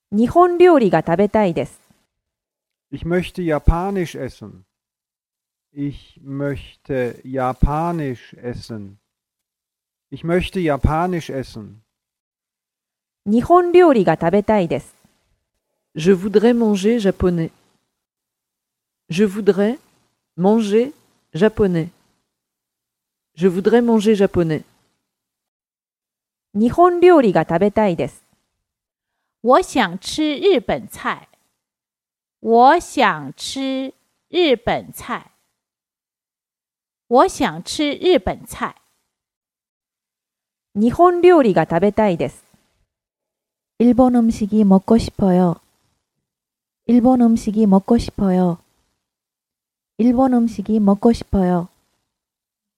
日本料理が食べたいです。 Ich möchte Japanisch essen. Ich möchte Japanisch essen. Ich möchte Japanisch essen. 日本料理が食べたいです。 Je voudrais manger japonais. Je voudrais manger japonais. Je voudrais manger japonais. 日本料理が食べたいです。 我想吃日本菜。我想吃日本菜。我想吃日本菜。 日本料理が食べたいです。 일본 음식이 먹고 싶어요. 일본 음식이 먹고 싶어요. 일본 음식이 먹고 싶어요.